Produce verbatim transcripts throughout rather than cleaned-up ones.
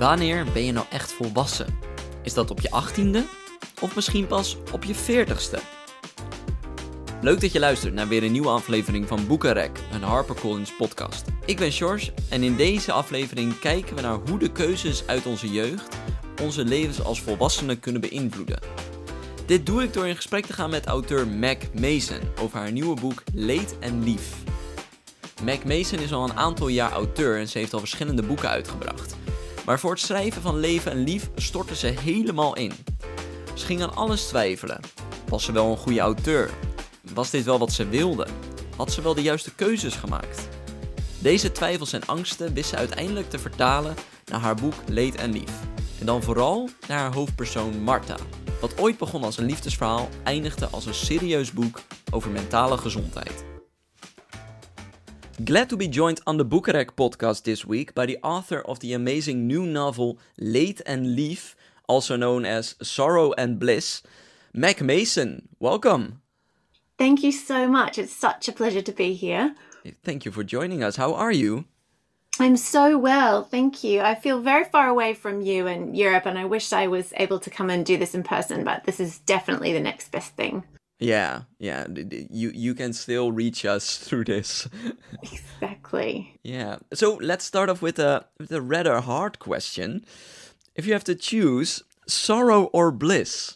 Wanneer ben je nou echt volwassen? Is dat op je achttiende? Of misschien pas op je veertigste? Leuk dat je luistert naar weer een nieuwe aflevering van Boekenrek, een HarperCollins podcast. Ik ben George en in deze aflevering kijken we naar hoe de keuzes uit onze jeugd onze levens als volwassenen kunnen beïnvloeden. Dit doe ik door in gesprek te gaan met auteur Meg Mason over haar nieuwe boek Leed en Lief. Meg Mason is al een aantal jaar auteur en ze heeft al verschillende boeken uitgebracht. Maar voor het schrijven van Leven en Lief stortte ze helemaal in. Ze ging aan alles twijfelen. Was ze wel een goede auteur? Was dit wel wat ze wilde? Had ze wel de juiste keuzes gemaakt? Deze twijfels en angsten wist ze uiteindelijk te vertalen naar haar boek Leed en Lief. En dan vooral naar haar hoofdpersoon Marta. Wat ooit begon als een liefdesverhaal, eindigde als een serieus boek over mentale gezondheid. Glad to be joined on the Boekenrek podcast this week by the author of the amazing new novel Leed and Lief, also known as Sorrow and Bliss, Meg Mason. Welcome. Thank you so much. It's such a pleasure to be here. Thank you for joining us. How are you? I'm so well, thank you. I feel very far away from you in Europe, and I wish I was able to come and do this in person, but this is definitely the next best thing. Yeah, yeah. You you can still reach us through this. Exactly. Yeah. So let's start off with a with a rather hard question. If you have to choose sorrow or bliss?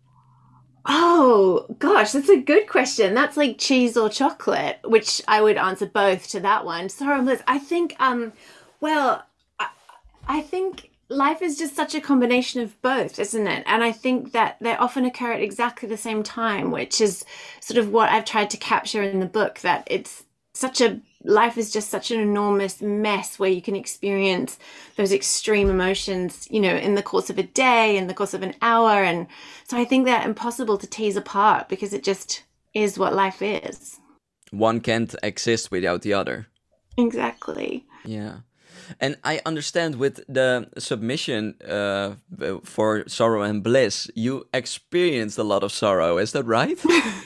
Oh, gosh, that's a good question. That's like cheese or chocolate, which I would answer both to that one. Sorrow and bliss. I think, um, well, I, I think life is just such a combination of both, isn't it? And I think that they often occur at exactly the same time, which is sort of what I've tried to capture in the book, that it's such a, life is just such an enormous mess where you can experience those extreme emotions, you know, in the course of a day, in the course of an hour. And so I think they're impossible to tease apart because it just is what life is. One can't exist without the other. Exactly. Yeah. And I understand with the submission uh, for Sorrow and Bliss, you experienced a lot of sorrow. Is that right?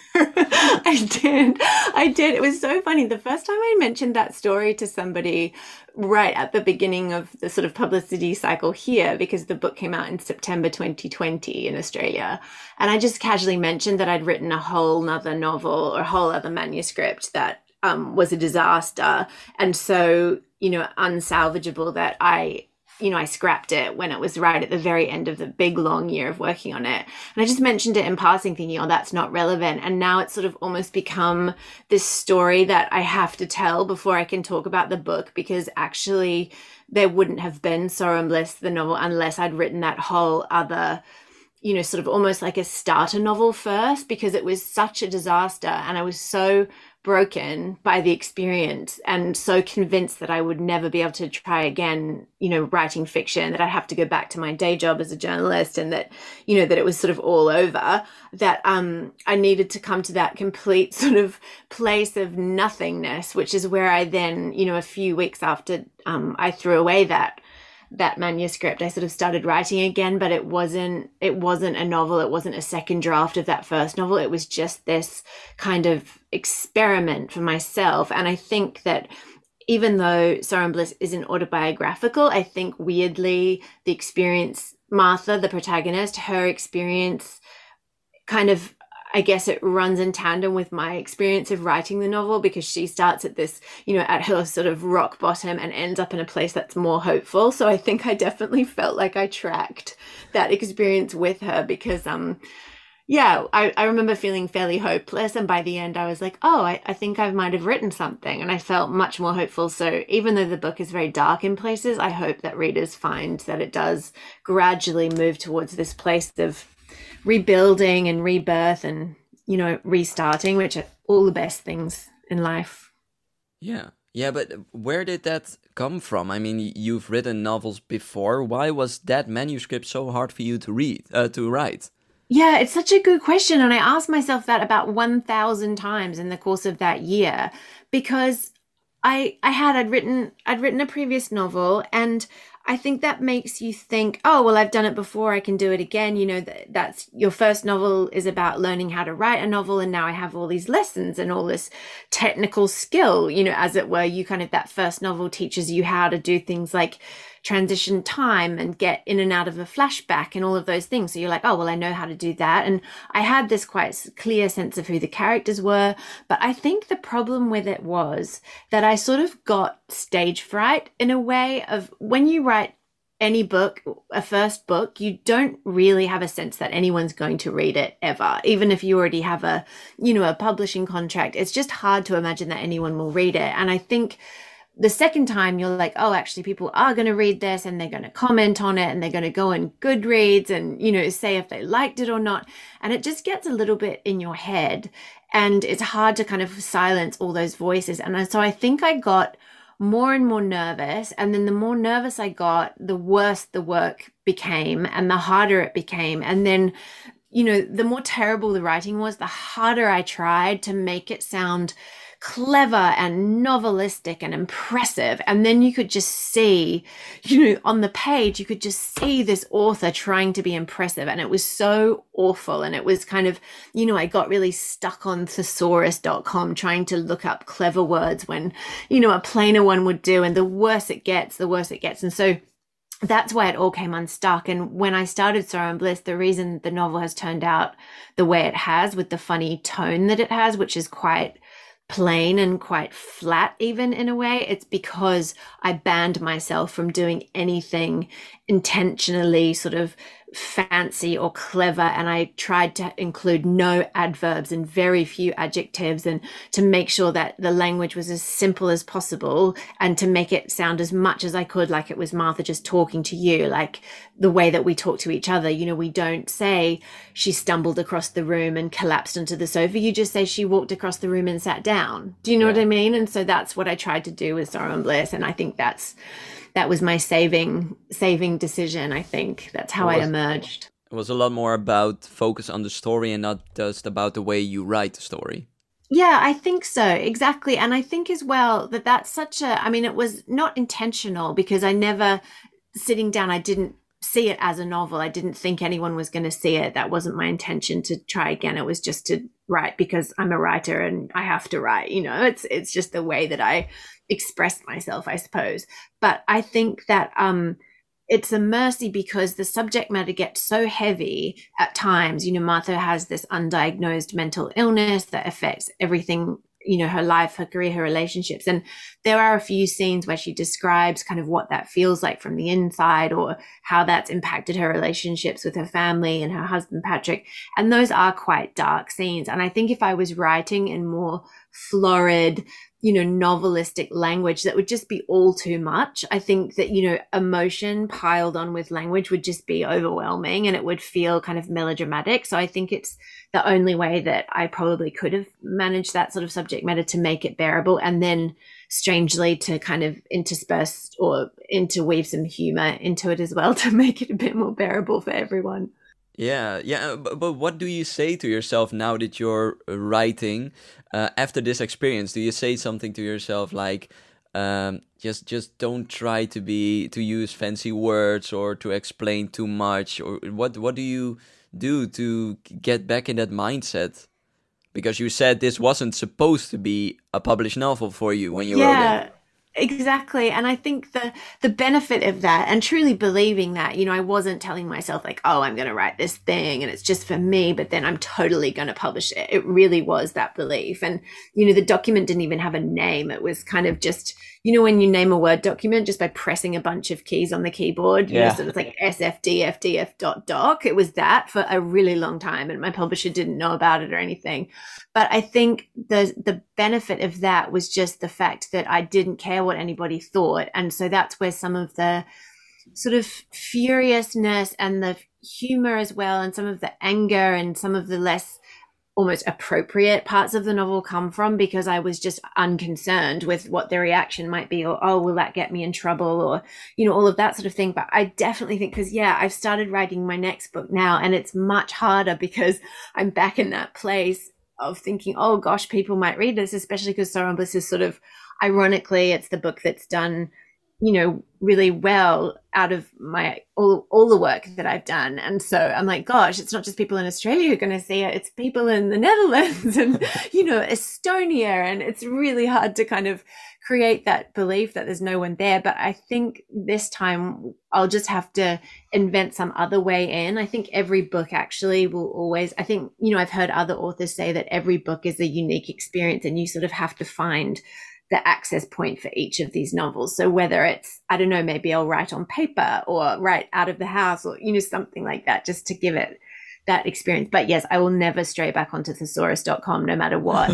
I did. I did. It was so funny. The first time I mentioned that story to somebody right at the beginning of the sort of publicity cycle here, because the book came out in September twenty twenty in Australia. And I just casually mentioned that I'd written a whole nother novel or a whole other manuscript that um, was a disaster. And so, you know, unsalvageable that I, you know, I scrapped it when it was right at the very end of the big long year of working on it. And I just mentioned it in passing thinking, oh, that's not relevant. And now it's sort of almost become this story that I have to tell before I can talk about the book, because actually there wouldn't have been Sorrow and Bliss, the novel, unless I'd written that whole other, you know, sort of almost like a starter novel first, because it was such a disaster. And I was so broken by the experience and so convinced that I would never be able to try again, you know, writing fiction, that I'd have to go back to my day job as a journalist, and that, you know, that it was sort of all over, that um, I needed to come to that complete sort of place of nothingness, which is where I then, you know, a few weeks after um, I threw away that that manuscript, I sort of started writing again, but it wasn't, it wasn't a novel. It wasn't a second draft of that first novel. It was just this kind of experiment for myself. And I think that even though Sorrow and Bliss isn't autobiographical, I think weirdly the experience, Martha, the protagonist, her experience kind of, I guess it runs in tandem with my experience of writing the novel, because she starts at this, you know, at her sort of rock bottom and ends up in a place that's more hopeful. So I think I definitely felt like I tracked that experience with her, because, um, yeah, I, I remember feeling fairly hopeless. And by the end, I was like, oh, I, I think I might have written something. And I felt much more hopeful. So even though the book is very dark in places, I hope that readers find that it does gradually move towards this place of rebuilding and rebirth and, you know, restarting, which are all the best things in life. Yeah. Yeah, but where did that come from? I mean, you've written novels before. Why was that manuscript so hard for you to read, uh, to write? Yeah, it's such a good question. And I asked myself that about one thousand times in the course of that year, because I I had, I'd written, I'd written a previous novel, and I think that makes you think, oh, well, I've done it before, I can do it again. You know, that, that's your first novel is about learning how to write a novel. And now I have all these lessons and all this technical skill, you know, as it were. You kind of, that first novel teaches you how to do things like transition time and get in and out of a flashback and all of those things. So you're like, oh, well, I know how to do that. And I had this quite clear sense of who the characters were. But I think the problem with it was that I sort of got stage fright in a way of when you write any book, a first book, you don't really have a sense that anyone's going to read it ever. Even if you already have a, you know, a publishing contract, it's just hard to imagine that anyone will read it. And I think the second time you're like, oh, actually people are going to read this and they're going to comment on it and they're going to go on Goodreads and, you know, say if they liked it or not. And it just gets a little bit in your head and it's hard to kind of silence all those voices. And so I think I got more and more nervous. And then the more nervous I got, the worse the work became and the harder it became. And then, you know, the more terrible the writing was, the harder I tried to make it sound clever and novelistic and impressive. And then you could just see, you know, on the page, you could just see this author trying to be impressive. And it was so awful. And it was kind of, you know, I got really stuck on thesaurus dot com trying to look up clever words when, you know, a plainer one would do. And the worse it gets, the worse it gets. And so that's why it all came unstuck. And when I started Sorrow and Bliss, the reason the novel has turned out the way it has with the funny tone that it has, which is quite plain and quite flat even in a way, it's because I banned myself from doing anything intentionally sort of fancy or clever, and I tried to include no adverbs and very few adjectives, and to make sure that the language was as simple as possible and to make it sound as much as I could like it was Martha just talking to you, like the way that we talk to each other. You know, we don't say she stumbled across the room and collapsed onto the sofa. You just say she walked across the room and sat down. Do you know yeah. what I mean? And so that's what I tried to do with Sorrow and Bliss, and I think that's that was my saving saving decision. I think that's how I emerged. It was a lot more about focus on the story and not just about the way you write the story. Yeah, I think so. Exactly. And I think as well that that's such a, I mean, it was not intentional because I never, sitting down, I didn't see it as a novel. I didn't think anyone was going to see it. That wasn't my intention to try again. It was just to write because I'm a writer and I have to write, you know, it's, it's just the way that I express myself, I suppose. But I think that um, it's a mercy because the subject matter gets so heavy at times. You know, Martha has this undiagnosed mental illness that affects everything, you know, her life, her career, her relationships. And there are a few scenes where she describes kind of what that feels like from the inside or how that's impacted her relationships with her family and her husband, Patrick. And those are quite dark scenes. And I think if I was writing in more florid, you know, novelistic language, that would just be all too much. I think that, you know, emotion piled on with language would just be overwhelming and it would feel kind of melodramatic. So I think it's the only way that I probably could have managed that sort of subject matter to make it bearable, and then strangely to kind of intersperse or interweave some humor into it as well to make it a bit more bearable for everyone. Yeah, yeah, but, but what do you say to yourself now that you're writing uh, after this experience? Do you say something to yourself like, um, just just don't try to be to use fancy words or to explain too much, or what what do you do to get back in that mindset? Because you said this wasn't supposed to be a published novel for you when you yeah. wrote it. Exactly. And I think the the benefit of that, and truly believing that, you know, I wasn't telling myself like, oh, I'm going to write this thing and it's just for me, but then I'm totally going to publish it. It really was that belief. And, you know, the document didn't even have a name. It was kind of just, you know, when you name a Word document just by pressing a bunch of keys on the keyboard, you yeah. know, so it's like S F D F D F dot doc. It was that for a really long time. And my publisher didn't know about it or anything. But I think the the benefit of that was just the fact that I didn't care what anybody thought. And so that's where some of the sort of furiousness and the humor as well, and some of the anger and some of the less almost appropriate parts of the novel come from, because I was just unconcerned with what the reaction might be, or, oh, will that get me in trouble, or, you know, all of that sort of thing. But I definitely think, because, yeah, I've started writing my next book now, and it's much harder because I'm back in that place of thinking, oh gosh, people might read this, especially because Sorrow and Bliss is sort of, ironically, it's the book that's done you know, really well out of my all, all the work that I've done. And so I'm like, gosh, it's not just people in Australia who are going to see it, it's people in the Netherlands and, you know, Estonia. And it's really hard to kind of create that belief that there's no one there. But I think this time I'll just have to invent some other way in. I think every book actually will always, I think, you know, I've heard other authors say that every book is a unique experience and you sort of have to find the access point for each of these novels. So whether it's, I don't know, maybe I'll write on paper or write out of the house or, you know, something like that, just to give it that experience. But yes, I will never stray back onto thesaurus dot com no matter what.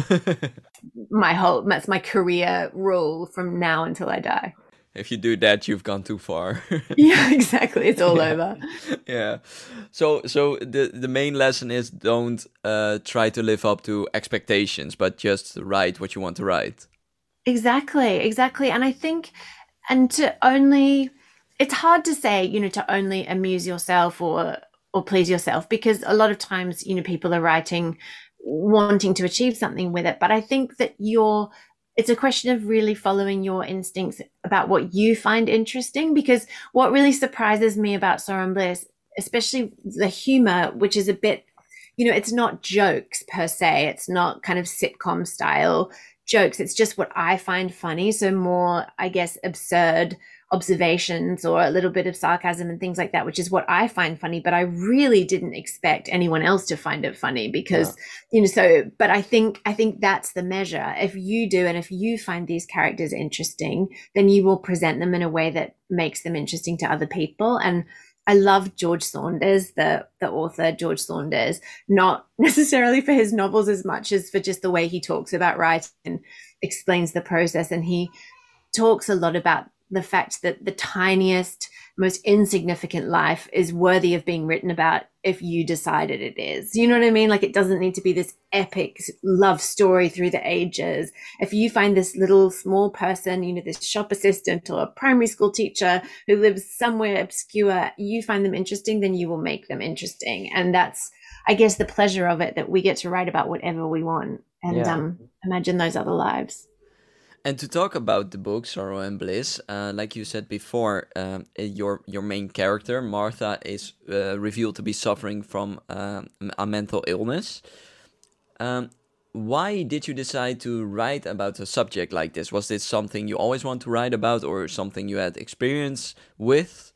my whole, that's my career rule from now until I die. If you do that, you've gone too far. Yeah, exactly. It's all yeah. over. Yeah. So so the, the main lesson is don't uh, try to live up to expectations, but just write what you want to write. Exactly, exactly. And I think, and to only, it's hard to say, you know, to only amuse yourself or or please yourself, because a lot of times, you know, people are writing wanting to achieve something with it. But I think that you're, it's a question of really following your instincts about what you find interesting, because what really surprises me about Sorrow and Bliss, especially the humor, which is a bit, you know, it's not jokes per se. It's not kind of sitcom style jokes. It's just what I find funny. So more, I guess, absurd observations or a little bit of sarcasm and things like that, which is what I find funny. But I really didn't expect anyone else to find it funny because, yeah. you know, so, but I think, I think that's the measure. If you do, and if you find these characters interesting, then you will present them in a way that makes them interesting to other people. And I love George Saunders, the the author, George Saunders, not necessarily for his novels as much as for just the way he talks about writing and explains the process. And he talks a lot about the fact that the tiniest, most insignificant life is worthy of being written about if you decided it is. You know what I mean? Like, it doesn't need to be this epic love story through the ages. If you find this little small person, you know, this shop assistant or a primary school teacher who lives somewhere obscure, you find them interesting, then you will make them interesting. And that's, I guess, the pleasure of it, that we get to write about whatever we want and yeah. um, imagine those other lives. And to talk about the book Sorrow and Bliss, uh, like you said before, um, your your main character Martha is uh, revealed to be suffering from uh, a mental illness. Um, why did you decide to write about a subject like this? Was this something you always want to write about, or something you had experience with?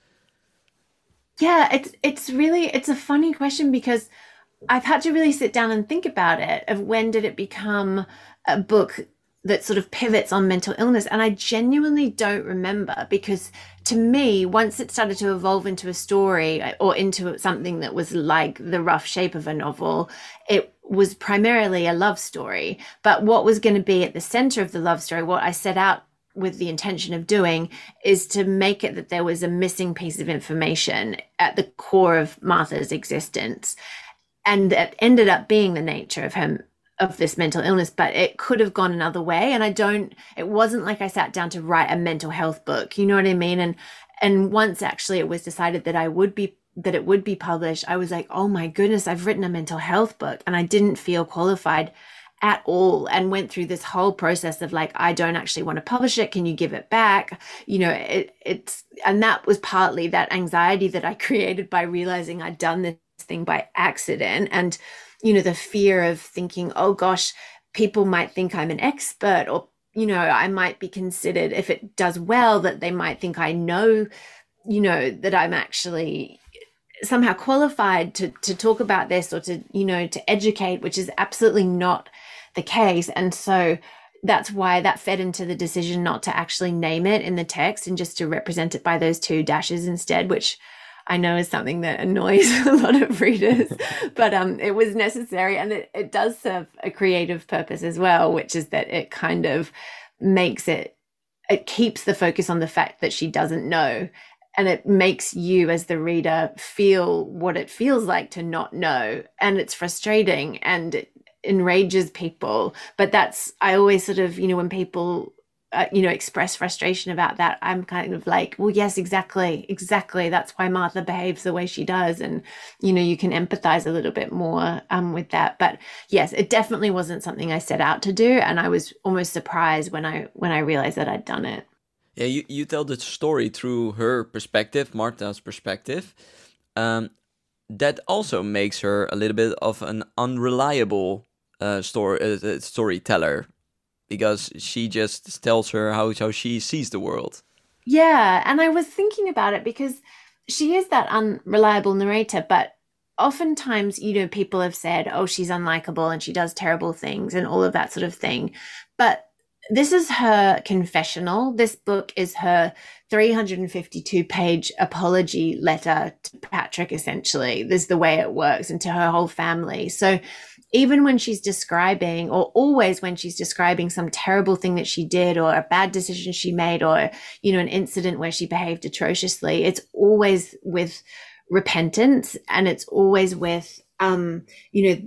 Yeah, it's it's really it's a funny question, because I've had to really sit down and think about it. Of when did it become a book that sort of pivots on mental illness? And I genuinely don't remember, because to me, once it started to evolve into a story or into something that was like the rough shape of a novel, it was primarily a love story. But what was going to be at the center of the love story, what I set out with the intention of doing, is to make it that there was a missing piece of information at the core of Martha's existence. And that ended up being the nature of her of this mental illness, but it could have gone another way. And I don't, it wasn't like I sat down to write a mental health book, you know what I mean? And, and once actually it was decided that I would be, that it would be published, I was like, oh my goodness, I've written a mental health book, and I didn't feel qualified at all, and went through this whole process of like, I don't actually want to publish it. Can you give it back? You know, it, it's, and that was partly that anxiety that I created by realizing I'd done this thing by accident. And you know, the fear of thinking, oh gosh, people might think I'm an expert, or, you know, I might be considered, if it does well, that they might think I know, you know, that I'm actually somehow qualified to, to talk about this, or to, you know, to educate, which is absolutely not the case. And so that's why that fed into the decision not to actually name it in the text, and just to represent it by those two dashes instead, which I know is something that annoys a lot of readers, but um, it was necessary, and it, it does serve a creative purpose as well, which is that it kind of makes it, it keeps the focus on the fact that she doesn't know, and it makes you as the reader feel what it feels like to not know, and it's frustrating and it enrages people. But that's, I always sort of, you know, when people Uh, you know, express frustration about that, I'm kind of like, well, yes, exactly, exactly. That's why Martha behaves the way she does. And, you know, you can empathize a little bit more um, with that. But yes, it definitely wasn't something I set out to do. And I was almost surprised when I when I realized that I'd done it. Yeah, you, you tell the story through her perspective, Martha's perspective. Um, that also makes her a little bit of an unreliable uh, story uh, uh, storyteller, because she just tells her how, how she sees the world. Yeah, and I was thinking about it because she is that unreliable narrator, but oftentimes, you know, people have said, oh, she's unlikable and she does terrible things and all of that sort of thing. But this is her confessional. This book is her three hundred fifty-two page apology letter to Patrick, essentially. This is the way it works, and to her whole family. So even when she's describing, or always when she's describing some terrible thing that she did, or a bad decision she made, or, you know, an incident where she behaved atrociously, it's always with repentance, and it's always with, um, you know,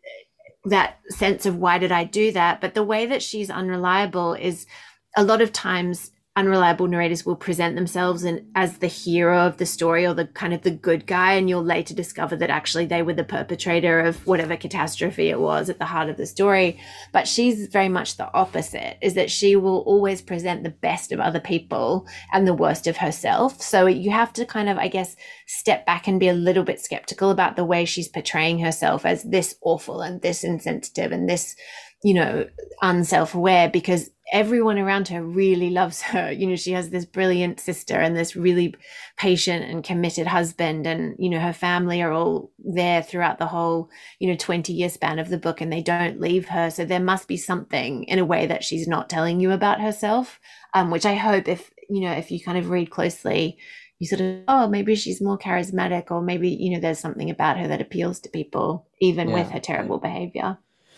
that sense of why did I do that? But the way that she's unreliable is a lot of times unreliable narrators will present themselves in, as the hero of the story, or the kind of the good guy, and you'll later discover that actually they were the perpetrator of whatever catastrophe it was at the heart of the story. But she's very much the opposite, is that she will always present the best of other people and the worst of herself. So you have to kind of, I guess, step back and be a little bit skeptical about the way she's portraying herself as this awful and this insensitive and this, you know, unself-aware, because everyone around her really loves her. You know, she has this brilliant sister and this really patient and committed husband, and, you know, her family are all there throughout the whole, you know, twenty year span of the book, and they don't leave her. So there must be something in a way that she's not telling you about herself, um, which I hope, if, you know, if you kind of read closely, you sort of, oh, maybe she's more charismatic, or maybe, you know, there's something about her that appeals to people, even with Yeah, her yeah. terrible behavior.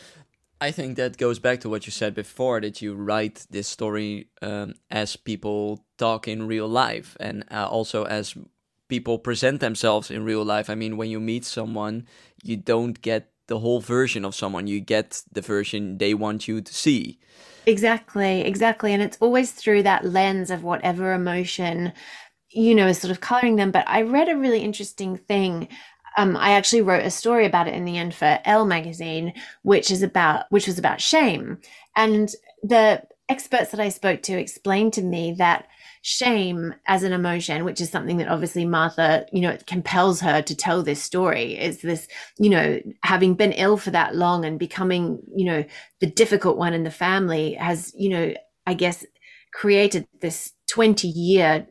I think that goes back to what you said before, that you write this story um, as people talk in real life, and uh, also as people present themselves in real life. I mean, when you meet someone, you don't get the whole version of someone, you get the version they want you to see. Exactly, exactly. And it's always through that lens of whatever emotion, you know, is sort of coloring them. But I read a really interesting thing. Um, I actually wrote a story about it in the end for Elle magazine, which is about which was about shame. And the experts that I spoke to explained to me that shame as an emotion, which is something that obviously Martha, you know, it compels her to tell this story, is this, you know, having been ill for that long and becoming, you know, the difficult one in the family has, you know, I guess created this twenty year,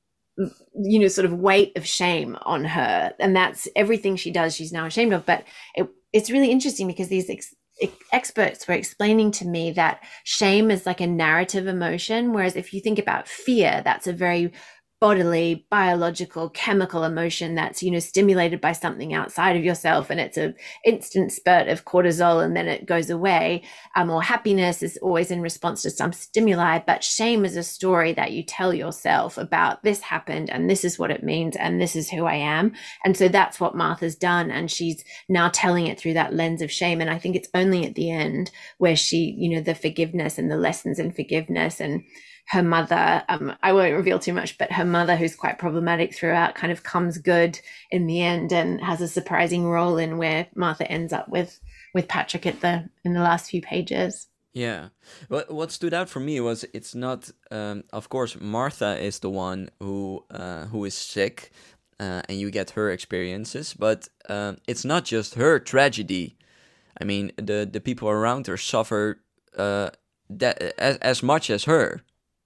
you know, sort of weight of shame on her. And that's everything she does, she's now ashamed of. But it, it's really interesting because these ex- experts were explaining to me that shame is like a narrative emotion, whereas if you think about fear, that's a very bodily, biological, chemical emotion that's, you know, stimulated by something outside of yourself, and it's a instant spurt of cortisol and then it goes away. Um, or happiness is always in response to some stimuli, but shame is a story that you tell yourself about, this happened and this is what it means and this is who I am. And so that's what Martha's done, and she's now telling it through that lens of shame. And I think it's only at the end where she, you know, the forgiveness and the lessons in forgiveness, and her mother, um, I won't reveal too much, but her mother, who's quite problematic throughout, kind of comes good in the end and has a surprising role in where Martha ends up with with Patrick at the in the last few pages. Yeah. What what stood out for me was, it's not, um, of course, Martha is the one who uh, who is sick, uh, and you get her experiences, but um, it's not just her tragedy. I mean, the the people around her suffer uh, that as as much as her.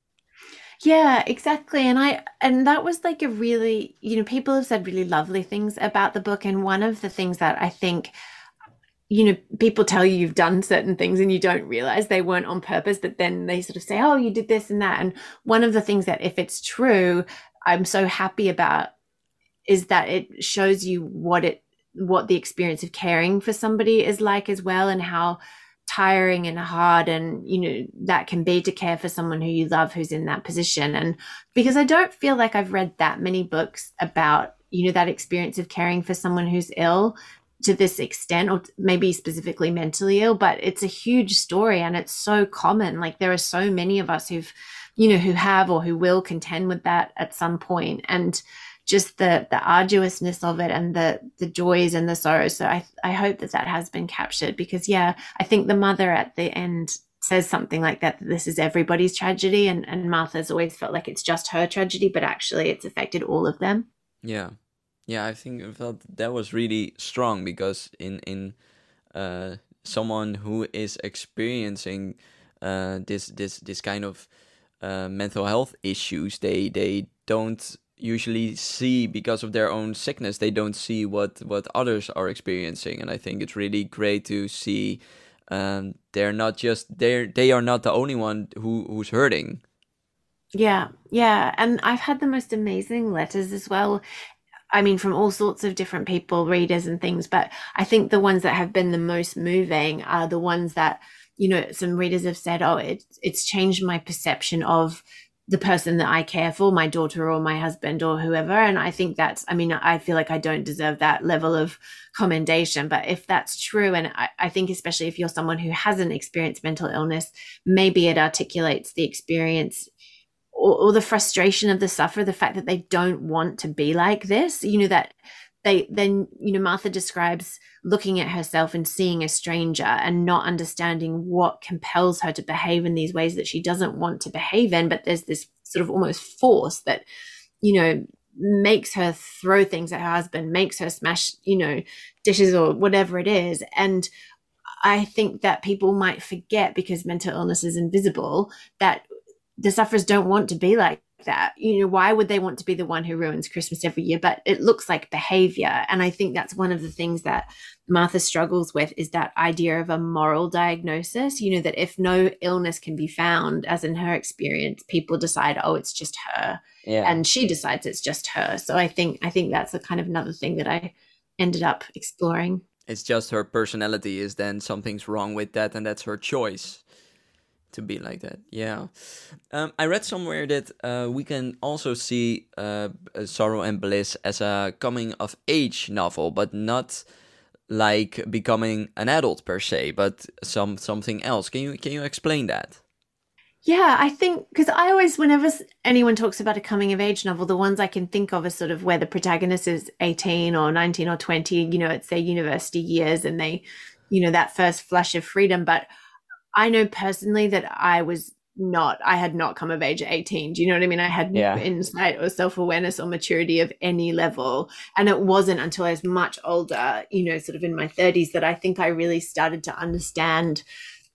Yeah, exactly. And I and that was like a really, you know, people have said really lovely things about the book. And one of the things that I think, you know, people tell you you've done certain things and you don't realize they weren't on purpose, but then they sort of say, oh, you did this and that. And one of the things that, if it's true, I'm so happy about, is that it shows you what it what the experience of caring for somebody is like as well, and how tiring and hard and, you know, that can be to care for someone who you love who's in that position. And because I don't feel like I've read that many books about, you know, that experience of caring for someone who's ill to this extent, or maybe specifically mentally ill, but it's a huge story and it's so common. Like, there are so many of us who've, you know, who have or who will contend with that at some point. And just the the arduousness of it, and the the joys and the sorrows. So I I hope that that has been captured, because yeah, I think the mother at the end says something like that, that this is everybody's tragedy, and, and Martha's always felt like it's just her tragedy, but actually it's affected all of them. Yeah, yeah. I think I felt that was really strong because in in uh, someone who is experiencing uh, this this this kind of uh, mental health issues, they they don't usually see, because of their own sickness, they don't see what what others are experiencing, and I think it's really great to see um, they're not just they're they are not the only one who who's hurting. Yeah, yeah. And I've had the most amazing letters as well. I mean, from all sorts of different people, readers and things, but I think the ones that have been the most moving are the ones that, you know, some readers have said, oh, it, it's changed my perception of the person that I care for, my daughter or my husband or whoever. And I think that's, I mean, I feel like I don't deserve that level of commendation, but if that's true, and I, I think especially if you're someone who hasn't experienced mental illness, maybe it articulates the experience or, or the frustration of the sufferer, the fact that they don't want to be like this, you know, that they then, you know, Martha describes looking at herself and seeing a stranger and not understanding what compels her to behave in these ways that she doesn't want to behave in. But there's this sort of almost force that, you know, makes her throw things at her husband, makes her smash, you know, dishes or whatever it is. And I think that people might forget, because mental illness is invisible, that the sufferers don't want to be like that. You know, why would they want to be the one who ruins Christmas every year? But it looks like behavior. And I think that's one of the things that Martha struggles with, is that idea of a moral diagnosis, you know, that if no illness can be found, as in her experience, people decide, oh, it's just her. Yeah. And she decides it's just her. So I think, I think that's a kind of another thing that I ended up exploring. It's just her personality is then something's wrong with that, and that's her choice to be like that. Yeah. Um, I read somewhere that uh, we can also see uh, Sorrow and Bliss as a coming of age novel, but not like becoming an adult per se, but some something else. Can you can you explain that? Yeah, I think, because I always, whenever anyone talks about a coming of age novel, the ones I can think of are sort of where the protagonist is eighteen or nineteen or twenty, you know, it's their university years and they, you know, that first flush of freedom. But I know personally that I was not, I had not come of age at eighteen. Do you know what I mean? I had Yeah. no insight or self-awareness or maturity of any level. And it wasn't until I was much older, you know, sort of in my thirties, that I think I really started to understand,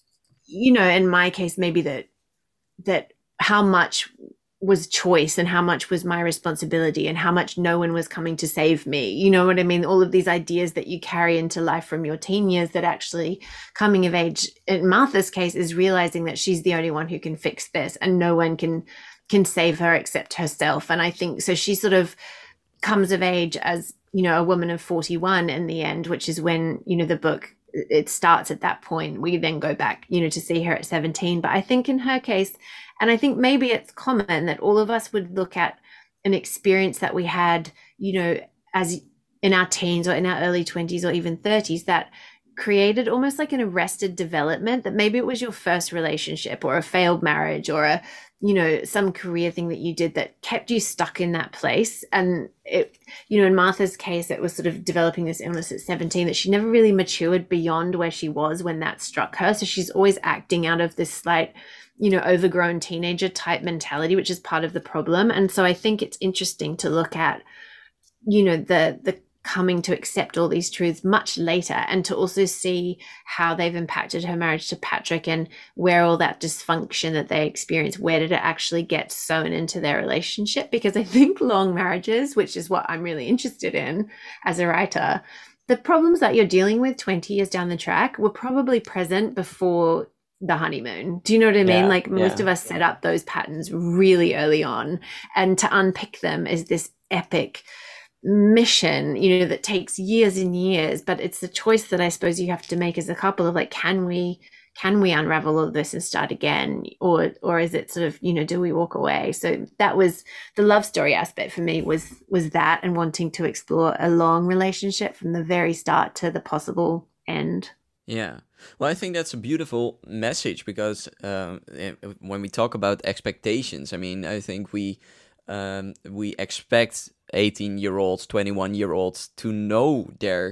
you know, in my case, maybe that, that how much was choice and how much was my responsibility and how much no one was coming to save me. You know what I mean? All of these ideas that you carry into life from your teen years, that actually coming of age in Martha's case is realizing that she's the only one who can fix this and no one can can save her except herself. And I think so she sort of comes of age as, you know, a woman of forty-one in the end, which is when, you know, the book, it starts at that point. We then go back, you know, to see her at seventeen. But I think in her case, and I think maybe it's common that all of us would look at an experience that we had, you know, as in our teens or in our early twenties or even thirties, that created almost like an arrested development, that maybe it was your first relationship or a failed marriage or a, you know, some career thing that you did that kept you stuck in that place. And it, you know, in Martha's case, it was sort of developing this illness at seventeen, that she never really matured beyond where she was when that struck her. So she's always acting out of this slight, you know, overgrown teenager type mentality, which is part of the problem. And so I think it's interesting to look at, you know, the the coming to accept all these truths much later, and to also see how they've impacted her marriage to Patrick and where all that dysfunction that they experienced, where did it actually get sewn into their relationship? Because I think long marriages, which is what I'm really interested in as a writer, the problems that you're dealing with twenty years down the track were probably present before the honeymoon. Do you know what I mean? Yeah, like most yeah. of us set up those patterns really early on, and to unpick them is this epic mission, you know, that takes years and years. But it's the choice that I suppose you have to make as a couple of like, can we can we unravel all of this and start again, or or is it sort of, you know, do we walk away? So that was the love story aspect for me, was was that, and wanting to explore a long relationship from the very start to the possible end. Yeah. Well, I think that's a beautiful message, because um, when we talk about expectations, I mean, I think we um, we expect eighteen-year-olds, twenty-one-year-olds to know their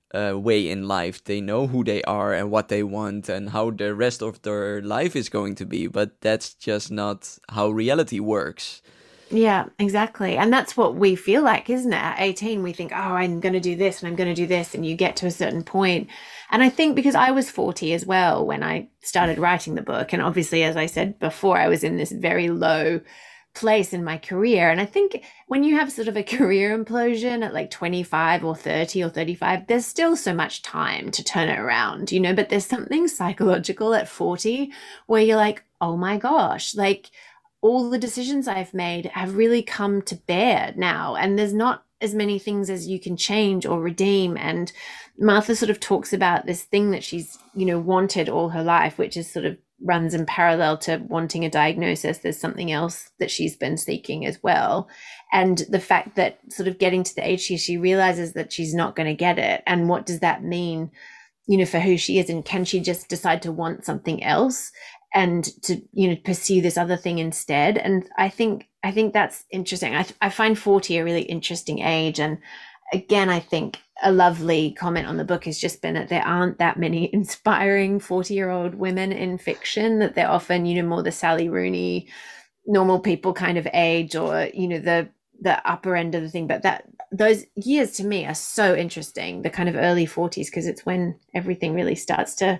uh, way in life. They know who they are and what they want and how the rest of their life is going to be. But that's just not how reality works. Yeah, exactly. And that's what we feel like, isn't it? At eighteen, we think, oh, I'm going to do this and I'm going to do this. And you get to a certain point. And I think because I was forty as well when I started writing the book. And obviously, as I said before, I was in this very low place in my career. And I think when you have sort of a career implosion at like twenty-five or thirty or thirty-five, there's still so much time to turn it around, you know, but there's something psychological at forty where you're like, oh my gosh, like, all the decisions I've made have really come to bear now. And there's not as many things as you can change or redeem. And Martha sort of talks about this thing that she's, you know, wanted all her life, which is sort of runs in parallel to wanting a diagnosis. There's something else that she's been seeking as well. And the fact that sort of getting to the age she, she realizes that she's not going to get it. And what does that mean, you know, for who she is? And can she just decide to want something else? And to, you know, pursue this other thing instead. And I think I think that's interesting. I, I find forty a really interesting age. And again, I think a lovely comment on the book has just been that there aren't that many inspiring forty-year-old women in fiction, that they're often, you know, more the Sally Rooney, normal people kind of age, or, you know, the the upper end of the thing. But that those years to me are so interesting, the kind of early forties, because it's when everything really starts to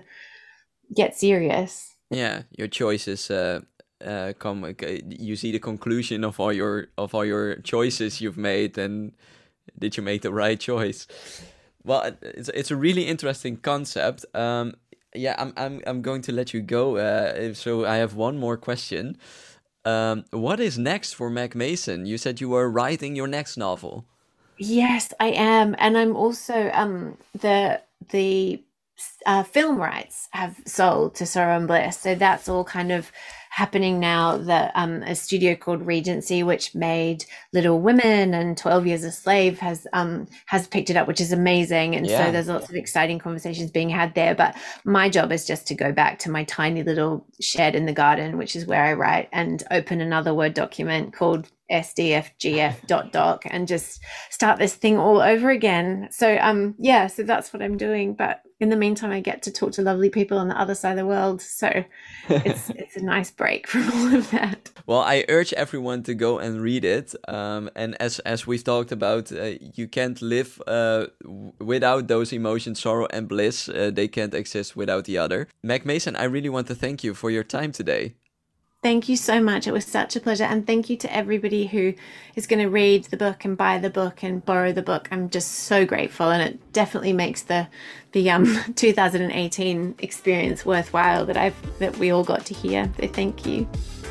get serious. Yeah, your choices uh, uh, come. You see the conclusion of all your of all your choices you've made, and did you make the right choice? Well, it's it's a really interesting concept. Um, yeah, I'm I'm I'm going to let you go. Uh, so I have one more question. Um, what is next for Meg Mason? You said you were writing your next novel. Yes, I am, and I'm also um the the. Uh, film rights have sold to Sorrow Bliss, so that's all kind of happening now. That um, a studio called Regency, which made Little Women and twelve Years a Slave, has um has picked it up, which is amazing. And yeah. So there's lots of exciting conversations being had there. But my job is just to go back to my tiny little shed in the garden, which is where I write, and open another Word document called S D F G F dot doc and just start this thing all over again. So um yeah, so that's what I'm doing. But in the meantime, I get to talk to lovely people on the other side of the world. So it's it's a nice break from all of that. Well, I urge everyone to go and read it. Um, and as as we've talked about, uh, you can't live uh, w- without those emotions, sorrow and bliss. Uh, they can't exist without the other. Meg Mason, I really want to thank you for your time today. Thank you so much. It was such a pleasure. And thank you to everybody who is going to read the book and buy the book and borrow the book. I'm just so grateful. And it definitely makes the the um twenty eighteen experience worthwhile that I've that we all got to hear. So thank you.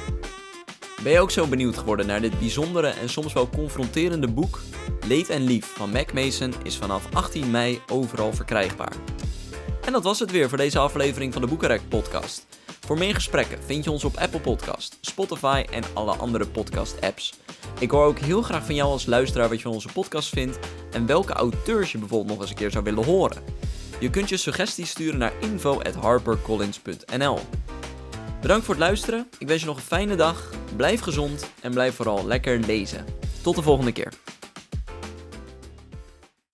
Ben je ook zo benieuwd geworden naar dit bijzondere en soms wel confronterende boek? Leed en Lief van Meg Mason is vanaf achttien mei overal verkrijgbaar. En dat was het weer voor deze aflevering van de Boekenrek podcast. Voor meer gesprekken vind je ons op Apple Podcast, Spotify en alle andere podcast-apps. Ik hoor ook heel graag van jou als luisteraar wat je van onze podcast vindt en welke auteurs je bijvoorbeeld nog eens een keer zou willen horen. Je kunt je suggesties sturen naar info at harpercollins dot n l. Bedankt voor het luisteren, ik wens je nog een fijne dag, blijf gezond en blijf vooral lekker lezen. Tot de volgende keer.